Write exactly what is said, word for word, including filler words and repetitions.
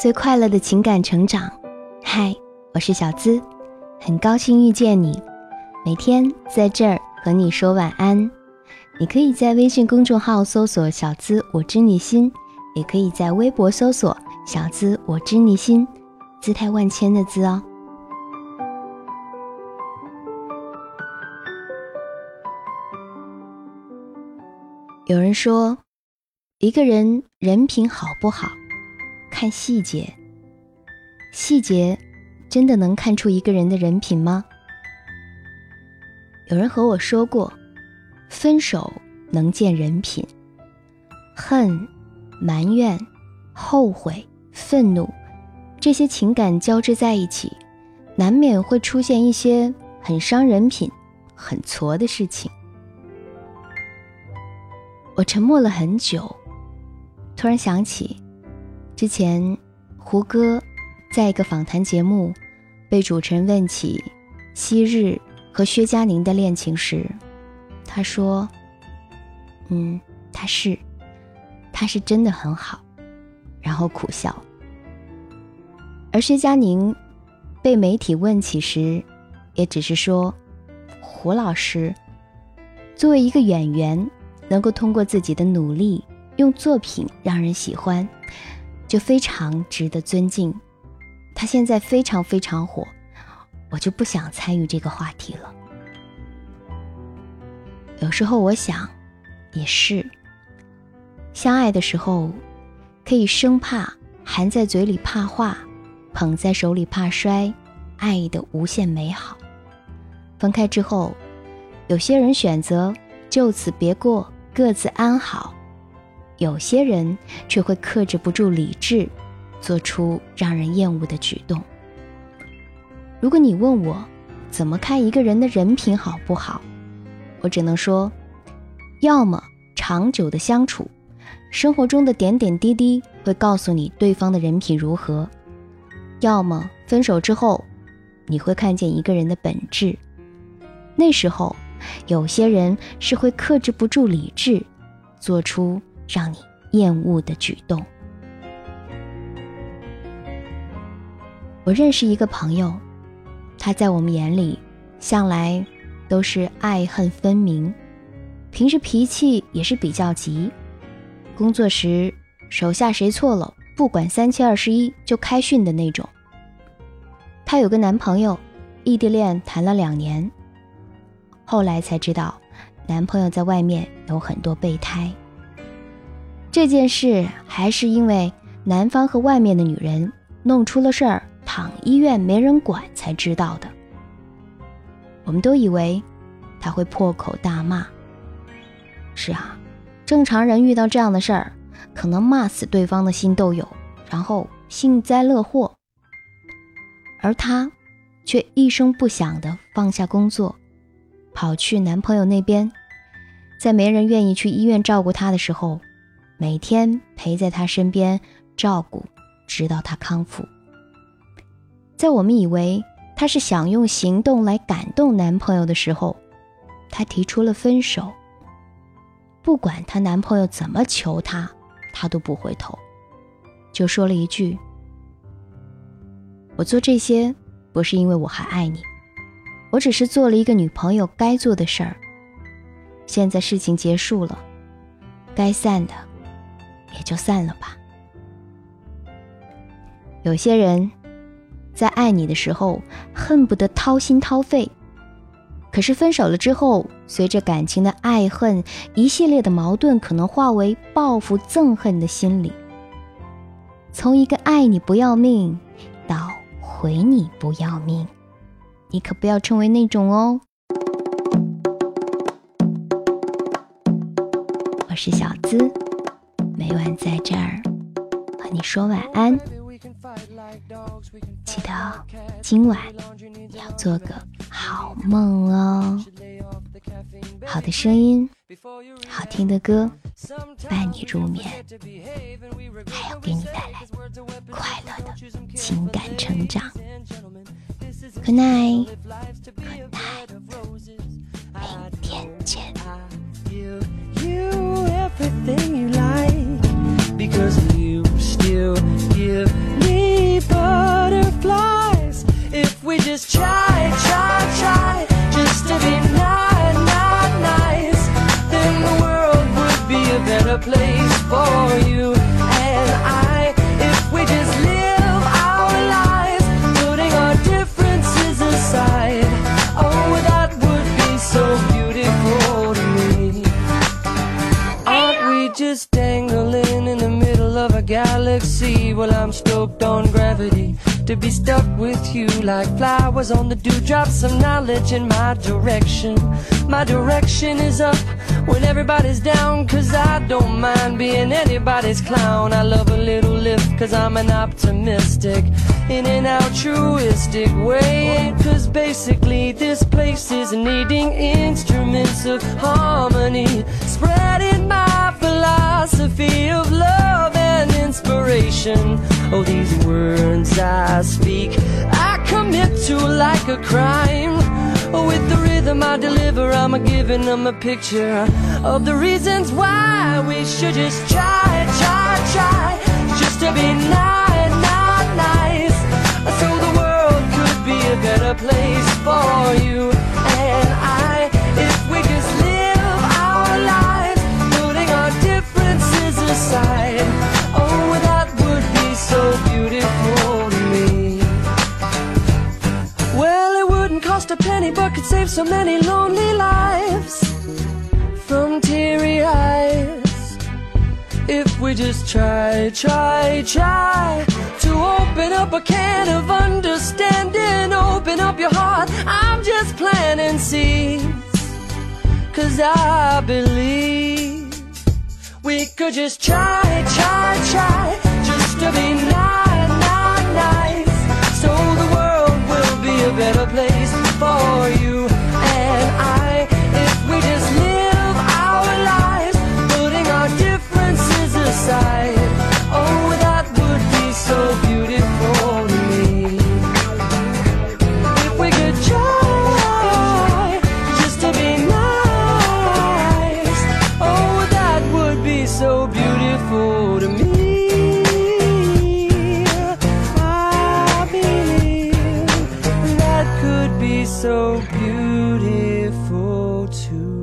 最快乐的情感成长。嗨，我是小资，很高兴遇见你，每天在这儿和你说晚安。你可以在微信公众号搜索小资我知你心，也可以在微博搜索小资我知你心，姿态万千的资哦。有人说，一个人人品好不好，看细节。细节真的能看出一个人的人品吗？有人和我说过，分手能见人品。恨、埋怨、后悔、愤怒，这些情感交织在一起，难免会出现一些很伤人品、很挫的事情。我沉默了很久，突然想起之前胡歌在一个访谈节目被主持人问起昔日和薛佳凝的恋情时，他说嗯，他是他是真的很好，然后苦笑。而薛佳凝被媒体问起时，也只是说，胡老师作为一个演员，能够通过自己的努力用作品让人喜欢，就非常值得尊敬。他现在非常非常火，我就不想参与这个话题了。有时候我想也是，相爱的时候可以生怕含在嘴里怕化，捧在手里怕摔，爱的无限美好。分开之后，有些人选择就此别过，各自安好，有些人却会克制不住理智，做出让人厌恶的举动。如果你问我怎么看一个人的人品好不好，我只能说，要么长久的相处，生活中的点点滴滴会告诉你对方的人品如何，要么分手之后，你会看见一个人的本质。那时候有些人是会克制不住理智，做出让你厌恶的举动。我认识一个朋友，他在我们眼里向来都是爱恨分明，平时脾气也是比较急，工作时手下谁错了，不管三七二十一就开训的那种。她有个男朋友，异地恋谈了两年，后来才知道男朋友在外面有很多备胎。这件事还是因为男方和外面的女人弄出了事儿，躺医院没人管才知道的。我们都以为他会破口大骂，是啊，正常人遇到这样的事儿，可能骂死对方的心都有，然后幸灾乐祸。而他却一声不响地放下工作，跑去男朋友那边，在没人愿意去医院照顾他的时候，每天陪在他身边照顾，直到他康复。在我们以为她是想用行动来感动男朋友的时候，她提出了分手。不管她男朋友怎么求她，她都不回头，就说了一句，我做这些不是因为我还爱你，我只是做了一个女朋友该做的事儿。现在事情结束了，该散的也就散了吧。有些人在爱你的时候恨不得掏心掏肺，可是分手了之后，随着感情的爱恨，一系列的矛盾可能化为报复憎恨的心理。从一个爱你不要命到回你不要命，你可不要成为那种哦。我是小资，每晚在这儿和你说晚安，记得今晚要做个好梦哦。好的声音，好听的歌，伴你入眠，还要给你带来快乐的情感成长。Good night， Good night， 明天见。Everything you like, because you still give me galaxy. Well, I'm stoked on gravity, to be stuck with you like flowers on the dewdrops of knowledge in my direction. My direction is up when everybody's down, cause I don't mind being anybody's clown. I love a little lift cause I'm an optimistic in an altruistic way, cause basically this place is needing instruments of harmony, spreading my philosophy of love and inspiration. Oh, these words I speak, I commit to like a crime. Oh, with the rhythm I deliver, I'm a giving them a picture of the reasons why we should just try, try, try, just to be nice, not nice, so the world could be a better place for you and I, if we just live our lives, putting our differences aside. Oh, that would be so beautiful to me. Well, it wouldn't cost a penny, but could save so many lonely lives from teary eyes, if we just try, try, try to open up a can of understanding. Open up your heart, I'm just planting seeds, cause I believe we could just try, try, try, just to be nice, not nice, so the world will be a better place for you and I, if we just live our lives, putting our differences aside. Oh, that would be so beautiful to me, if we could try just to be nice. Oh, that would be so beautiful to me. I believe that could be so beautiful too.